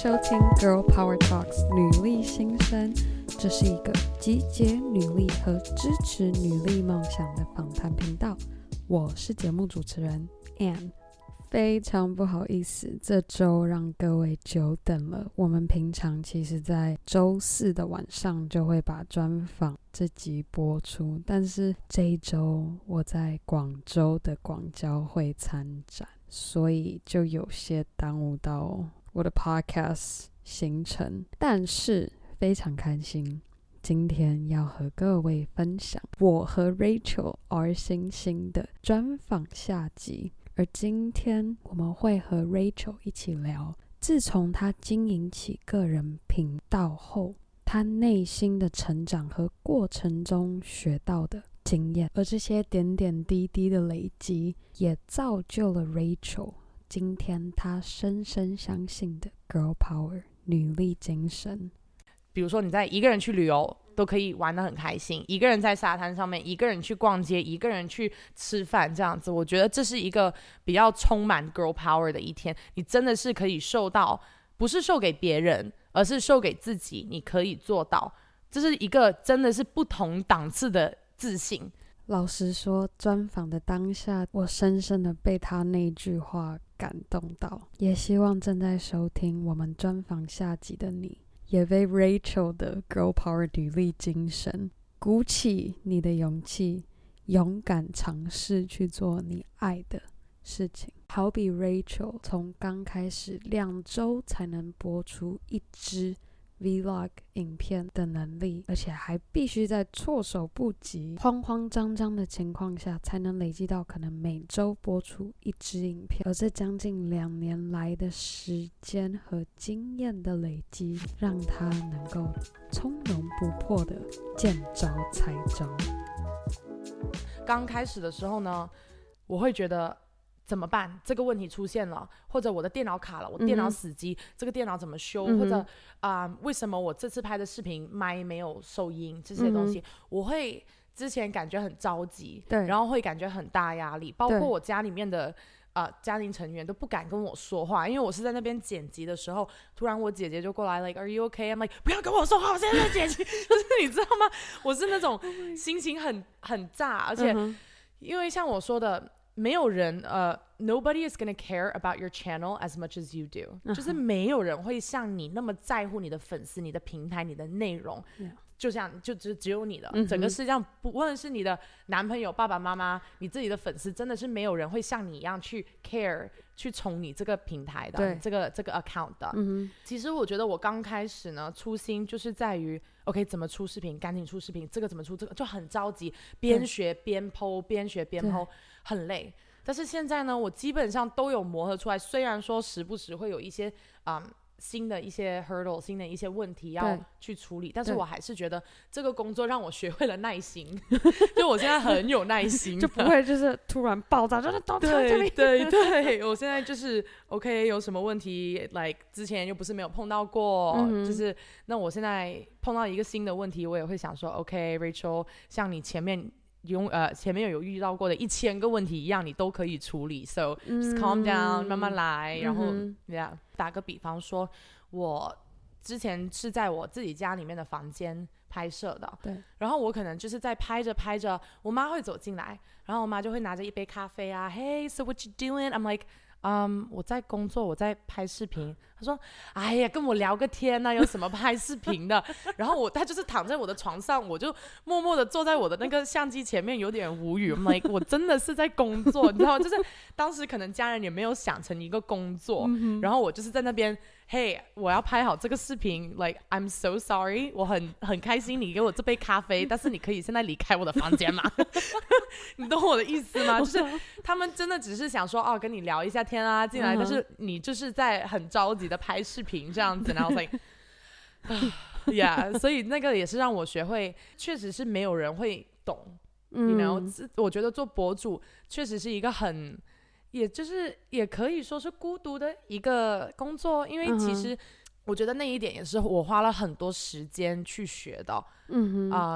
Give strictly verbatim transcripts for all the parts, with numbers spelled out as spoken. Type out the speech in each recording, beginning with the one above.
收聽 Girl Power Talks 女力新生，這是一個集結女力和支持女力夢想的訪談頻道。我是節目主持人 Ann。非常不好意思，這週讓各位久等了。我們平常其實在週四的晚上就會把專訪這集播出，但是這一週我在廣州的廣交會參展，所以就有些耽誤到我的 podcast 行程。但是非常開心，今天要和各位分享我和 Rachel R 星星的專訪下集。而今天我們會和 Rachel 一起聊，自從她經營起個人頻道後，她內心的成長和過程中學到的經驗，而這些點點滴滴的累積，也造就了 Rachel 今天她深深相信的 Girl Power 女力精神。 比如說你在一個人去旅遊都可以玩得很開心，一個人在沙灘上面，一個人去逛街，一個人去吃飯，這樣子我覺得這是一個比較充滿 girl power 的一天。你真的是可以受到，不是受給別人，而是受給自己，你可以做到，這是一個真的是不同檔次的自信。 老實說，專訪的當下我深深的被他那句話感動到，也希望正在收聽我們專訪下集的你也被 Rachel 的 Girl Power 女力精神鼓起你的勇氣，勇敢嘗試去做你愛的事情。好比 Rachel 從剛開始兩週才能播出一支 Vlog 影片的能力，而且還必須在措手不及、慌慌張張的情況下才能累積到可能每週播出一支影片。而這將近兩年來的時間和經驗的累積，讓他能夠從容不迫的見招拆招。 剛開始的時候呢，我會覺得怎麼辦？這個問題出現了，或者我的電腦卡了，我電腦死機，嗯、這個電腦怎麼修？嗯、或者啊、呃，為什麼我這次拍的視頻麥沒有收音？這些東西，嗯、我會之前感覺很着急，對，然後會感覺很大壓力，包括我家裡面的呃家庭成員都不敢跟我說話，因為我是在那邊剪輯的時候，突然我姐姐就過來 like Are you okay? I'm like 不要跟我說話，我現在在剪輯，就是你知道嗎？我是那種心情很很炸，而且、嗯、因為像我說的。沒有人呃、uh, nobody is gonna care about your channel as much as you do、uh-huh. 就是沒有人會像你那麼在乎你的粉絲、你的平台、你的內容、yeah. 就像就只只有你的、uh-huh. 整個世界上，不論是你的男朋友、爸爸媽媽、你自己的粉絲，真的是沒有人會像你一樣去 care 去寵你這個平台的這個這個 account 的、uh-huh. 其實我覺得我剛開始呢，初心就是在於 OK 怎麼出視頻，趕緊出視頻，這個怎麼出，這個就很着急，邊學邊 po， 邊學邊 po，很累。但是現在呢，我基本上都有磨合出來，雖然說時不時會有一些嗯新的一些 hurdle， 新的一些問題要去處理，但是我還是覺得這個工作讓我學會了耐心，就我現在很有耐心， 就不會就是突然爆炸，就是都對對對，我現在就是 OK， 有什麼問題 like 之前又不是沒有碰到過、嗯、就是那我現在碰到一個新的問題，我也會想說 OK Rachel， 像你前面用呃前面有遇到過的一千個問題一樣，你都可以處理 ，so just calm down，、嗯、慢慢來，然後、嗯、yeah， 打個比方說，我之前是在我自己家裡面的房間拍攝的，對，然後我可能就是在拍着拍着，我媽會走進來，然後我媽就會拿着一杯咖啡啊 ，Hey so what you doing？ I'm like， 嗯，我在工作，我在拍視頻。她說，哎呀，跟我聊個天啊，有什麼拍視頻的？然後我，她就是躺在我的床上，我就默默的坐在我的那個相機前面，有點無語。I'm like， 我真的是在工作，你知道嗎？就是當時可能家人也沒有想成一個工作，嗯、然後我就是在那邊。嘿、hey, 我要拍好這個視頻 like I'm so sorry， 我很很開心你給我這杯咖啡，但是你可以現在離開我的房間嗎？你懂我的意思嗎？就是他們真的只是想說哦，跟你聊一下天啊進來、uh-huh. 但是你就是在很着急的拍視頻這樣子，然後 like yeah， 所以那個也是讓我學會，確實是沒有人會懂、嗯、you know， 我覺得做博主確實是一個很也就是也可以說是孤獨的一個工作，因為其實我覺得那一點也是我花了很多時間去學的。嗯哼，um,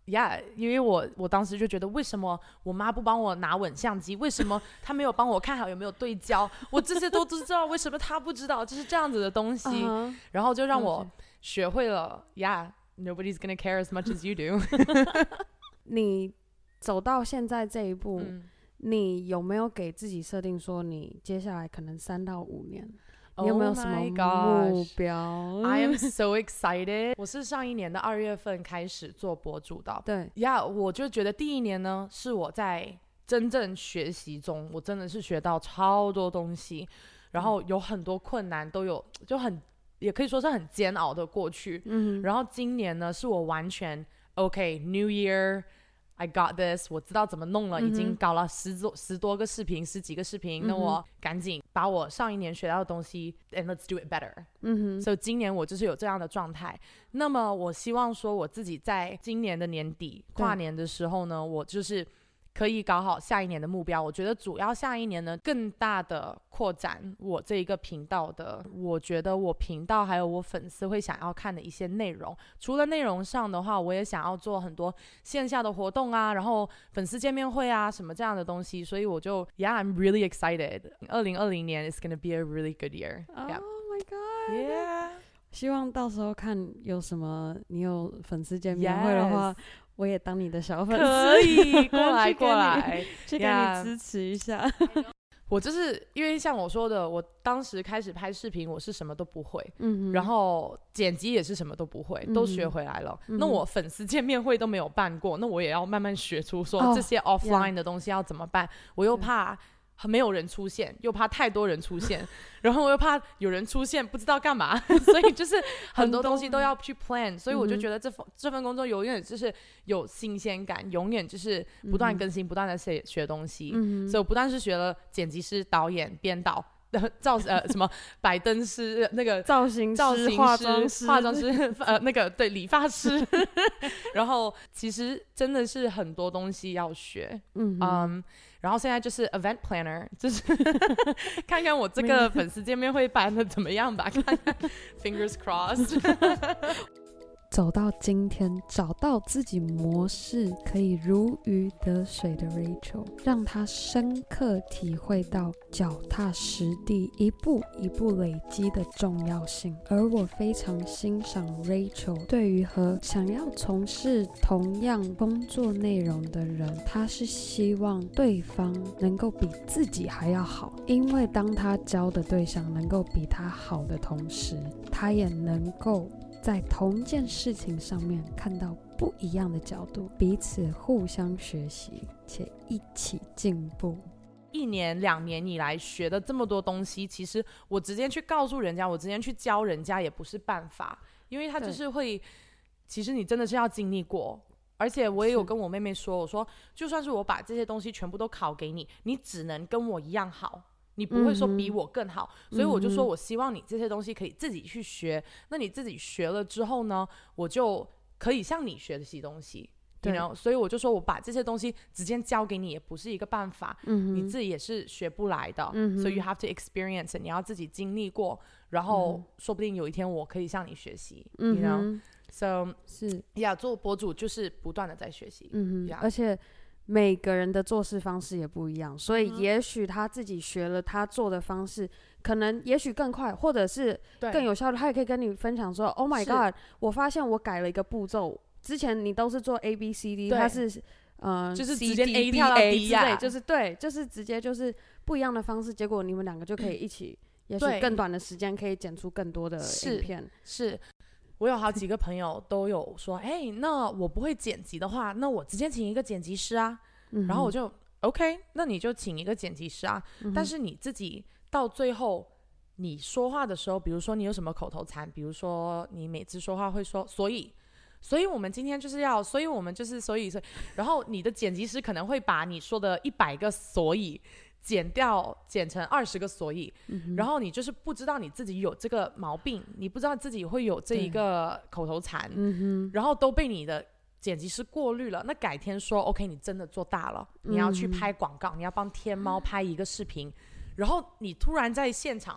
呀、yeah, 因為我我當時就覺得，為什麼我媽不幫我拿穩相機？為什麼她沒有幫我看好有沒有對焦？我這些都知道，為什麼她不知道？就是這樣子的東西， uh-huh. 然後就讓我學會了。Yeah, nobody's gonna care as much as you do 。 你走到現在這一步、 嗯， 你有沒有給自己設定說，你接下來可能三到五年？你有沒有什麼目標 ？Oh I am so excited 。我是上一年的二月份開始做博主的。 對呀， yeah, 我就覺得第一年呢，是我在真正學習中，我真的是學到超多東西，然後有很多困難都有，就很也可以說是很煎熬的過去。嗯，然後今年呢，是我完全 OK New Year。I got this， 我知道怎麼弄了，嗯、已經搞了十多十多個視頻，十幾個視頻，嗯、那我趕緊把我上一年學到的東西 ，and let's do it better。嗯哼，所以今年我就是有這樣的狀態。那麼我希望說我自己在今年的年底跨年的時候呢，我就是可以搞好下一年的目標。我覺得主要下一年呢，更大的擴展我這一個頻道的，我覺得我頻道還有我粉絲會想要看的一些內容。除了內容上的話，我也想要做很多線下的活動啊，然後粉絲見面會啊，什麼這樣的東西。所以我就 Yeah, I'm really excited. 二零二零年 is gonna be a really good year. Oh yeah. my god. Yeah. 希望到時候看有什麼，你有粉絲見面會的話。Yes.我也當你的小粉絲， 可以過來過來， 去給你支持一下。 Yeah. 我就是因為像我說的，我當時開始拍視頻，我是什麼都不會，嗯，然後剪輯也是什麼都不會，嗯、都學回來了、嗯。那我粉絲見面會都沒有辦過，那我也要慢慢學出說這些 offline 的東西要怎麼辦。Oh, yeah. 我又怕。沒有人出現，又怕太多人出現，然後我又怕有人出現不知道幹嘛，所以就是很多東西都要去 plan，所以我就覺得這份、嗯、這份工作永遠就是有新鮮感，永遠就是不斷更新，嗯、不斷的學學東西，嗯、所以我不但是學了剪輯師、導演、編導。造呃什麼擺燈師那個造型師造型師化妝師化妝師呃那個對理髮師，然後其實真的是很多東西要學，嗯嗯，然後現在就是 event planner， 就是看看我這個粉絲見面會辦的怎麼樣吧，看看 fingers crossed。 走到今天，找到自己模式可以如魚得水的 Rachel， 讓她深刻體會到腳踏實地、一步一步累積的重要性。而我非常欣賞 Rachel 對於和想要從事同樣工作內容的人，她是希望對方能夠比自己還要好，因為當她教的對象能夠比她好的同時，她也能夠在同件事情上面看到不一樣的角度，彼此互相學習且一起進步。 一年兩年以來學的這麼多東西，其實我直接去告訴人家，我直接去教人家也不是辦法，因為他就是會，其實你真的是要經歷過。而且我也有跟我妹妹說，我說就算是我把這些東西全部都考給你，你只能跟我一樣好，你不會說比我更好，嗯、所以我就說我希望你這些東西可以自己去學、嗯、那你自己學了之後呢，我就可以像你學的些東西，對 you know? 所以我就說我把這些東西直接教給你也不是一個辦法、嗯、你自己也是學不來的、嗯、所以 you have to experience， 你要自己經歷過，然後說不定有一天我可以向你學習、嗯、you know so 是呀，做博主就是不斷的在學習，嗯 yeah. 而且每個人的做事方式也不一樣，所以也許他自己學了他做的方式、嗯、可能也許更快或者是更有效率，他也可以跟你分享說 Oh my god， 我發現我改了一個步驟，之前你都是做 A B C D， 他是呃就是直接 A 跳到 D 呀、啊， 就是對，就是直接就是不一樣的方式，結果你们兩個就可以一起、嗯、也許更短的時間可以剪出更多的影片。 是，是我有好幾個朋友都有說，哎、欸，那我不會剪輯的話，那我直接請一個剪輯師啊。嗯、然後我就 OK， 那你就請一個剪輯師啊、嗯。但是你自己到最後，你說話的時候，比如說你有什麼口頭禪，比如說你每次說話會說，所以，所以我們今天就是要，所以我們就是所以，所以，然後你的剪輯師可能會把你說的一百個所以剪掉，剪成二十個所以、嗯，然後你就是不知道你自己有這個毛病，你不知道自己會有這一個口頭禪、嗯，然後都被你的剪輯師過濾了。那改天說 OK， 你真的做大了，你要去拍廣告、嗯，你要幫天貓拍一個視頻、嗯，然後你突然在現場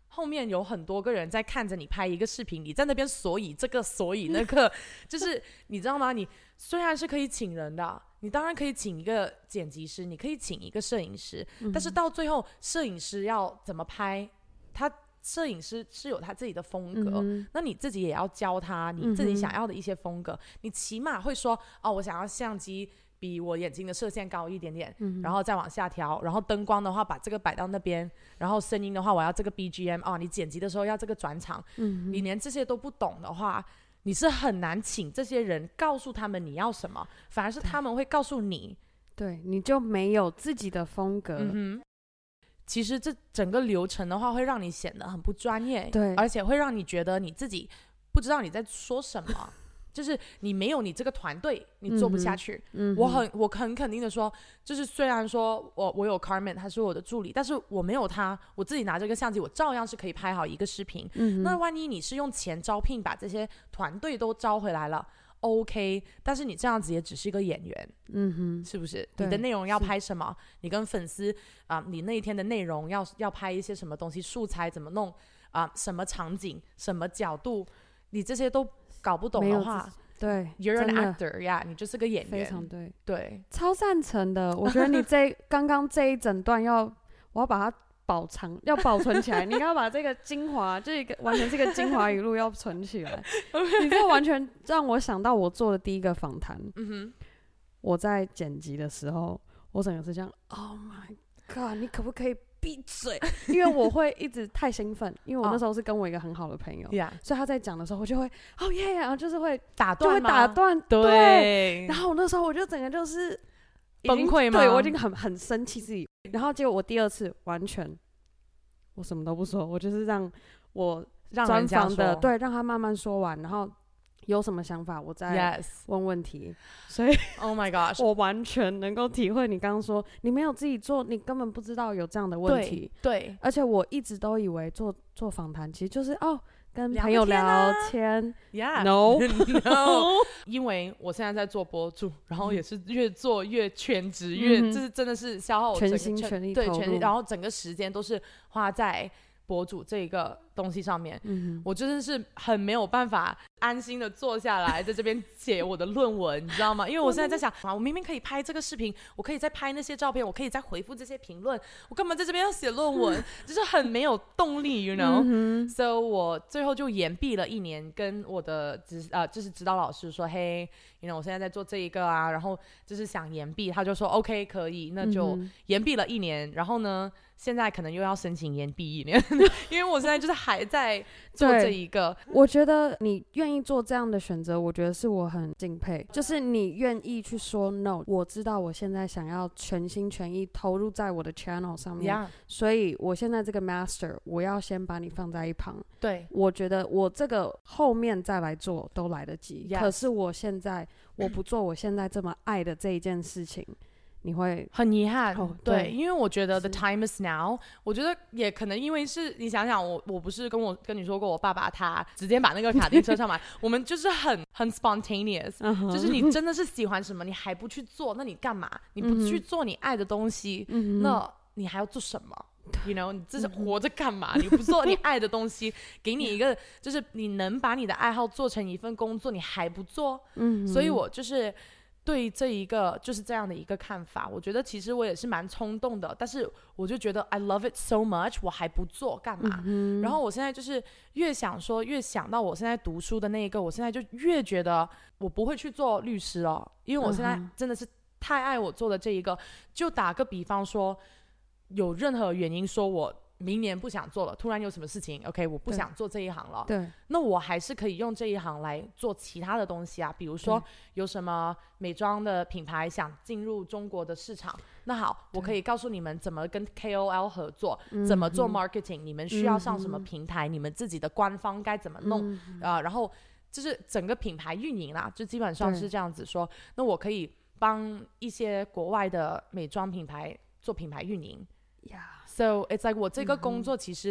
後面有很多個人在看着你拍一個視頻，你在那邊所以這個所以那個，就是你知道嗎？你雖然是可以請人的，你當然可以請一個剪輯師，你可以請一個攝影師，嗯、但是到最後攝影師要怎麼拍，他攝影師是有他自己的風格、嗯，那你自己也要教他你自己想要的一些風格，嗯、你起碼會說哦，我想要相機比我眼睛的射線高一點點、嗯，然後再往下調，然後燈光的話把這個擺到那邊，然後聲音的話我要這個 B G M 哦，你剪輯的時候要這個轉場、嗯，你連這些都不懂的話，你是很難請這些人告訴他們你要什麼，反而是他們會告訴你， 對，你就沒有自己的風格。 嗯哼，其實這整個流程的話會讓你顯得很不專業， 對， 而且會讓你覺得你自己不知道你在說什麼。就是你沒有你這個團隊，你做不下去。嗯、我很我很肯定的說，就是雖然說我我有 Carmen， 他是我的助理，但是我沒有他，我自己拿這個相機，我照樣是可以拍好一個視頻。嗯、那萬一你是用錢招聘把這些團隊都招回來了 ，OK， 但是你這樣子也只是一個演員，嗯哼，是不是？你的內容要拍什麼？你跟粉絲啊、呃，你那一天的內容要要拍一些什麼東西？素材怎麼弄啊、呃？什麼場景？什麼角度？你這些都搞不懂的話， 對 ，You're an actor 呀、yeah, 你就是個演員， 非常對， 對， 超贊成的。我覺得你這剛剛這一整段要，我要把它保藏，要保存起來。你要把這個精華，這個完全是個精華語錄，要存起來。Okay. 你這完全讓我想到我做的第一個訪談。嗯哼，我在剪輯的時候，我整個是這樣 ，Oh my God， 你可不可以閉嘴？因為我會一直太興奮，因為我那時候是跟我一個很好的朋友， yeah. 所以他在講的時候，我就會哦耶，然後就是會打斷， 就會打斷，對，對。然後我那時候我就整個就是崩潰嗎？ 對，我已經很很生氣自己。然後結果我第二次完全我什麼都不說，我就是讓我專訪的對，讓他慢慢說完，然後有什麼想法我再問問題。Yes. 所以 Oh my gosh， 我完全能夠體會你剛剛說你沒有自己做，你根本不知道有這樣的問題。 對，對， 而且我一直都以為做做訪談其實就是哦跟朋友聊天。 Yeah No No 因為我現在在做播主，然後也是越做越全職，越、嗯、這是真的是消耗我整個全心全力對全力，然後整個時間都是花在博主這個東西上面、嗯、我真的是很沒有辦法安心的坐下來在這邊寫我的論文你知道嗎？因為我現在在想啊，我明明可以拍這個視頻，我可以再拍那些照片，我可以再回復這些評論，我幹嘛在這邊要寫論文？就是很沒有動力 you know、嗯、so 我最後就延畢了一年，跟我的指呃就是指導老師說，嘿 you know 我現在在做這一個啊，然後就是想延畢，他就說 OK 可以，那就延畢了一年、嗯、然後呢現在可能又要申請延畢一年因為我現在就是還在做這一個。 我覺得你願意做這樣的選擇，我覺得是我很敬佩，就是你願意去說 no。我知道我現在想要全心全意投入在我的 channel 上面、yeah. 所以我現在這個 master 我要先把你放在一旁。對，我覺得我這個後面再來做都來得及、yes. 可是我現在我不做我現在這麼愛的這一件事情你會很遺憾、哦對，對，因為我覺得 the time is now。我覺得也可能因為是你想想，我我不是跟我跟你說過，我爸爸他直接把那個卡丁車上買，我們就是很很 spontaneous，、uh-huh. 就是你真的是喜歡什麼，你還不去做，那你幹嘛？你不去做你愛的東西，嗯、那你還要做什麼 ？You know， 你這是活着幹嘛？你不做你愛的東西，給你一個就是你能把你的愛好做成一份工作，你還不做？嗯，所以我就是。對這一個就是這樣的一個看法，我覺得其實我也是蠻衝動的，但是我就覺得 I love it so much， 我還不做幹嘛、嗯？然後我現在就是越想說，越想到我現在讀書的那一個，我現在就越覺得我不會去做律師了，因為我現在真的是太愛我做的這一個。就打個比方說，有任何原因說我明年不想做了，突然有什麼事情 OK 我不想做這一行了，對，那我還是可以用這一行來做其他的東西啊，比如說有什麼美妝的品牌想進入中國的市場，那好，我可以告訴你們怎麼跟 K O L 合作，怎麼做 marketing、嗯、你們需要上什麼平台、嗯、你們自己的官方該怎麼弄啊、嗯呃，然後就是整個品牌運營啦，就基本上是這樣子說，那我可以幫一些國外的美妝品牌做品牌運營呀。Yeah. So it's like 我這個工作其實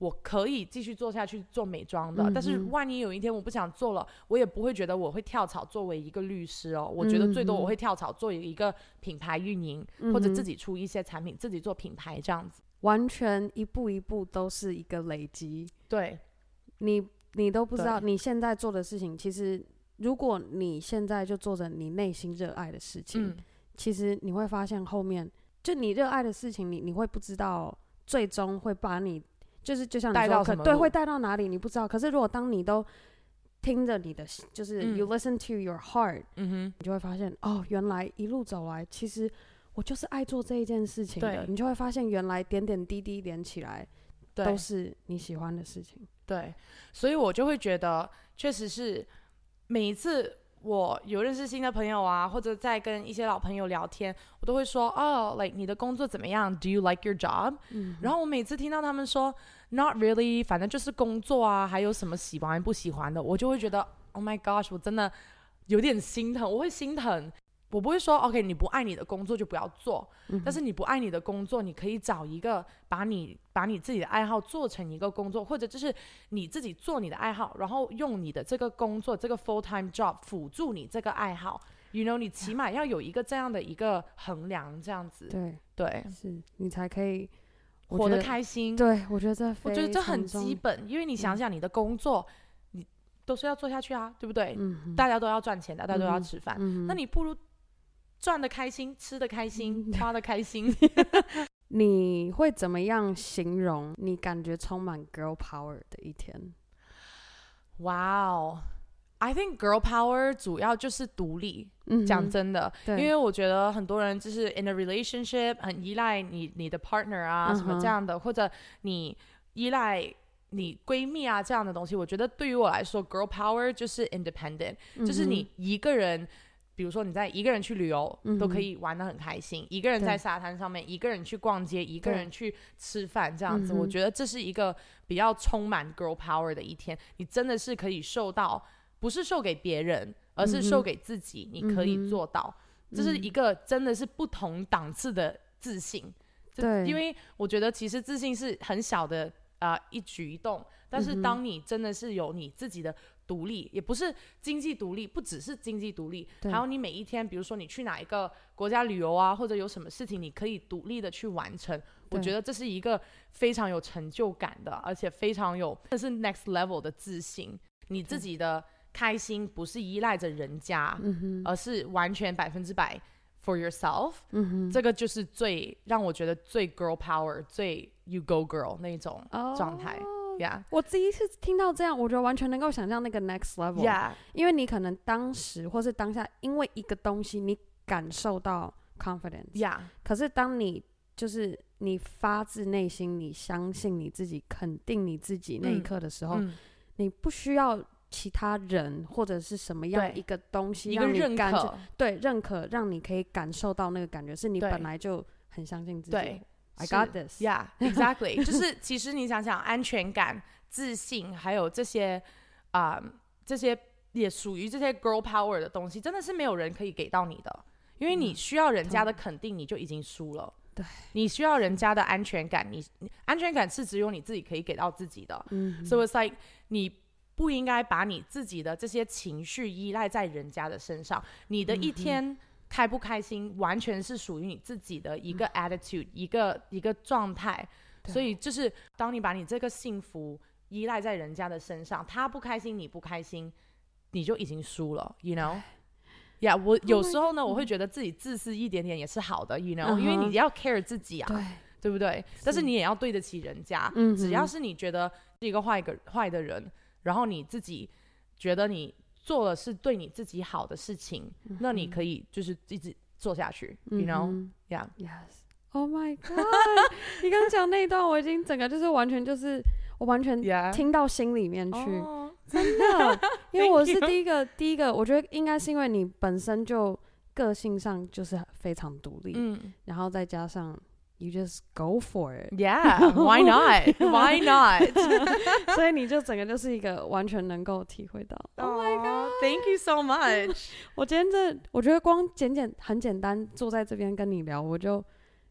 我可以繼續做下去做美妝的、嗯，但是萬一有一天我不想做了，我也不會覺得我會跳槽作為一個律師哦。我覺得最多我會跳槽做一個品牌運營、嗯，或者自己出一些產品，自己做品牌這樣子。 完全一步一步都是一個累積。對，你你都不知道你現在做的事情，其實如果你現在就做着你內心熱愛的事情、嗯，其實你會發現後面就你熱愛的事情你，你你會不知道最終會把你。就是就像你說，帶到什麼路，對，會帶到哪裡你不知道。可是如果當你都聽着你的，就是 you listen to your heart，、嗯、你就會發現哦，原來一路走來，其實我就是愛做這一件事情的。你就會發現，原來點點滴滴連起來，都是你喜歡的事情。對，所以我就會覺得，確實是每一次我有認識新的朋友啊，或者在跟一些老朋友聊天，我都會說哦 like 你的工作怎麼樣 ？Do you like your job？、嗯、然後我每次聽到他們說 Not really， 反正就是工作啊，還有什麼喜歡不喜歡的，我就會覺得 Oh my gosh， 我真的有點心疼，我會心疼。我不會說 OK， 你不愛你的工作就不要做、嗯，但是你不愛你的工作，你可以找一個把你把你自己的愛好做成一個工作，或者就是你自己做你的愛好，然後用你的這個工作這個 full time job 輔助你這個愛好 ，you know， 你起碼要有一個這樣的一個衡量，這樣子，對對，是你才可以活得開心。對，我覺得這非常我覺得這很基本，因為你想想你的工作，嗯、你都是要做下去啊，對不對？嗯、大家都要賺錢的，大家都要吃飯、嗯，那你不如賺得開心，吃得開心，嗯、花得開心。你會怎麼樣形容你感覺充滿 girl power 的一天？哇哦 I think girl power 主要就是獨立。嗯、講真的，因為我覺得很多人就是 in a relationship 很依賴你你的 partner 啊、嗯、什麼這樣的，或者你依賴你閨蜜啊這樣的東西。我覺得對於我來說 girl power 就是 independent、嗯、就是你一個人，比如說你在一個人去旅遊、嗯、都可以玩得很開心，一個人在沙灘上面，一個人去逛街，一個人去吃飯這樣子、嗯、我覺得這是一個比較充滿 girl power 的一天。你真的是可以受到，不是受給別人，而是受給自己、嗯、你可以做到、嗯、這是一個真的是不同檔次的自信。對，因為我覺得其實自信是很小的、呃、一舉一動，但是當你真的是有你自己的獨立，也不是經濟獨立，不只是經濟獨立，還有你每一天比如說你去哪一個國家旅遊啊，或者有什麼事情你可以獨立的去完成，我覺得這是一個非常有成就感的，而且非常有這是 next level 的自信。你自己的開心不是依賴着人家、嗯、而是完全百分之百 for yourself、嗯、這個就是最讓我覺得最 girl power 最 you go girl 那種狀態、oh, yeah. 我第一次聽到這樣，我覺得完全能夠想象那個 next level、yeah. 因為你可能當時或是當下因為一個東西你感受到 confidence、yeah. 可是當你就是你發自內心你相信你自己肯定你自己那一刻的時候、嗯、你不需要其他人或者是什麼樣一個東西讓你感覺，對，認可，讓你可以感受到那個感覺，是你本來就很相信自己。對 I got this. Yeah, exactly. 就是其實你想想，安全感、自信，還有這些啊、呃，這些也屬於這些 girl power 的東西，真的是沒有人可以給到你的，因為你需要人家的肯定，你就已經輸了。對，你需要人家的安全感，你安全感是只有你自己可以給到自己的。嗯 So it's like 你。不應該把你自己的這些情緒依賴在人家的身上，你的一天開不開心、嗯、完全是屬於你自己的一個 attitude、嗯、一個一個狀態。所以就是當你把你這個幸福依賴在人家的身上，他不開心你不開心，你就已經輸了 you know yeah 我有時候呢、oh、我會覺得自己自私一點點也是好的 you know、uh-huh、因為你要 care 自己啊，對，對不對？是，但是你也要對得起人家、嗯、只要是你覺得是一個壞個壞的人，然後你自己覺得你做的是對你自己好的事情、嗯、那你可以就是一直做下去、嗯、you know yeah yes oh my god 你剛講那一段我已經整個就是完全就是我完全聽到心裡面去、yeah. oh. 真的因為我是第一個第一個我覺得應該是因為你本身就個性上就是非常獨立、嗯、然後再加上You just go for it. Yeah, why not? Why not? 所以你就整個就是一個完全能夠體會到。Oh my god! Thank you so much. 我今天這我覺得光簡簡很簡單坐在這邊跟你聊，我就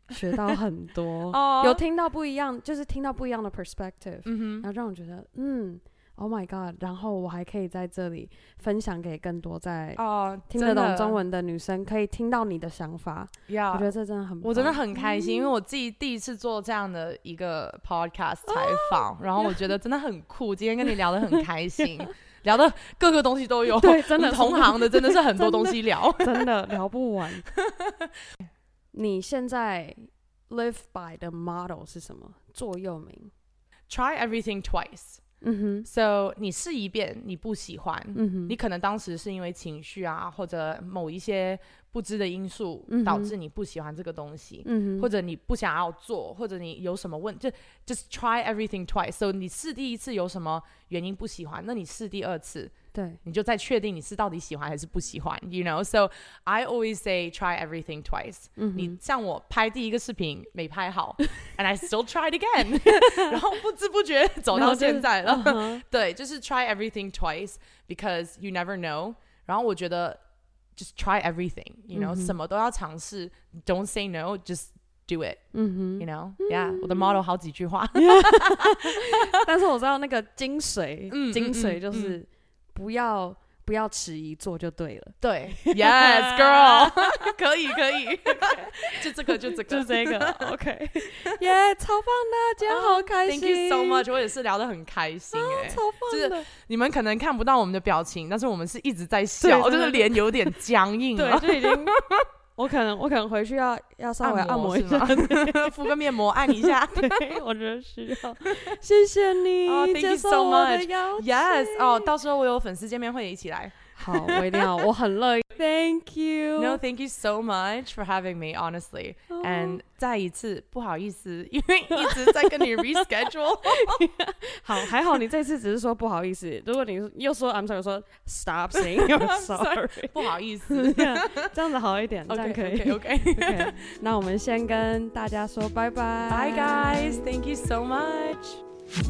學到很多， 哦、 有聽到不一樣，就是聽到不一樣的 perspective，、 嗯、 然後讓我覺得，嗯 ，Oh my God， 然後我還可以在這裡分享給更多在聽得懂中文的女生，可以聽到你的想法。 Yeah, 我覺得這真的很棒， 我真的很開心，嗯、因為我自己第一次做這樣的一個 podcast 採訪，哦、然後我覺得真的很酷。今天跟你聊得很開心。聊的各個東西都有， 對，真的同行的真的是很多東西聊， 真的，真的聊不完。你現在 live by 的 motto 是什麼？座右銘 Try everything twice。嗯哼 So 你試一遍，你不喜歡，嗯哼，你可能當時是因為情緒啊，或者某一些不知的因素導致你不喜歡這個東西，嗯哼，或者你不想要做，或者你有什麼問，就 just try everything twice。So 你試第一次有什麼原因不喜歡，那你試第二次，對，你就再確定你是到底喜歡還是不喜歡 ，you know。So I always say try everything twice。嗯，你像我拍第一個視頻沒拍好，and I still tried again， 然後不知不覺走到現在了。Uh-huh. 對，就是 try everything twice because you never know。然後我覺得 just try everything， you know，、mm-hmm. 什麼都要嘗試 ，don't say no，just do it，、mm-hmm. you know，yeah，、mm-hmm. 我的 motto 好幾句話， 但是我知道那個精髓， 嗯、 精髓就是。嗯嗯不要不要遲疑，做就對了。 對 ，Yes, girl， 可以可以， okay. 就這個就這個就這個 ，OK， 耶、yeah, 超棒的，今天好開心、 uh,，Thank you so much， 我也是聊得很開心哎、欸啊，超棒的。 就是你們可能看不到我們的表情，但是我們是一直在笑，就是臉有點僵硬了， 對，就已經。我可能我可能回去要要稍微按摩一下， 敷個面膜按一下。 對，我覺得需要。謝謝你、 oh, thank you so much. 接受我的邀請。 Yes， 哦，到時候我有粉絲見面會一起來。 好，我一定要，我很樂意。Thank you. No, thank you so much for having me, honestly. Oh. And 再一次不好意思，因為一直在跟你 reschedule 。 好，還好你這次只是說不好意思。如果你又說 I'm sorry， 說 stop saying you're sorry， 不好意思， 這樣子好一點， okay, 這樣可以。 OK OK OK。 那我們先跟大家說拜拜。 Bye guys, thank you so much.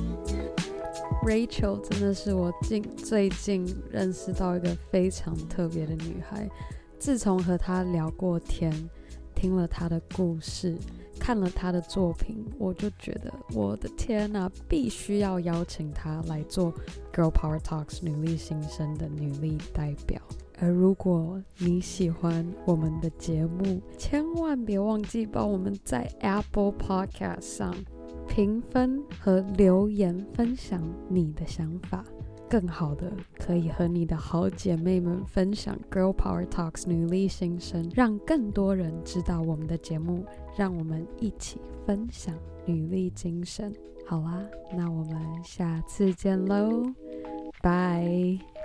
Rachel 真的是我近最近認識到一個非常特別的女孩。自從和她聊過天，聽了她的故事，看了她的作品，我就覺得我的天啊，必須要邀請她來做 Girl Power Talks 女力新生的女力代表。而如果你喜歡我們的節目，千萬別忘記幫我們在 Apple Podcast 上評分和留言，分享你的想法。更好的，可以和你的好姐妹們分享 Girl Power Talks 女力新生，讓更多人知道我們的節目，讓我們一起分享女力精神。好啦，那我們下次見嘍，拜。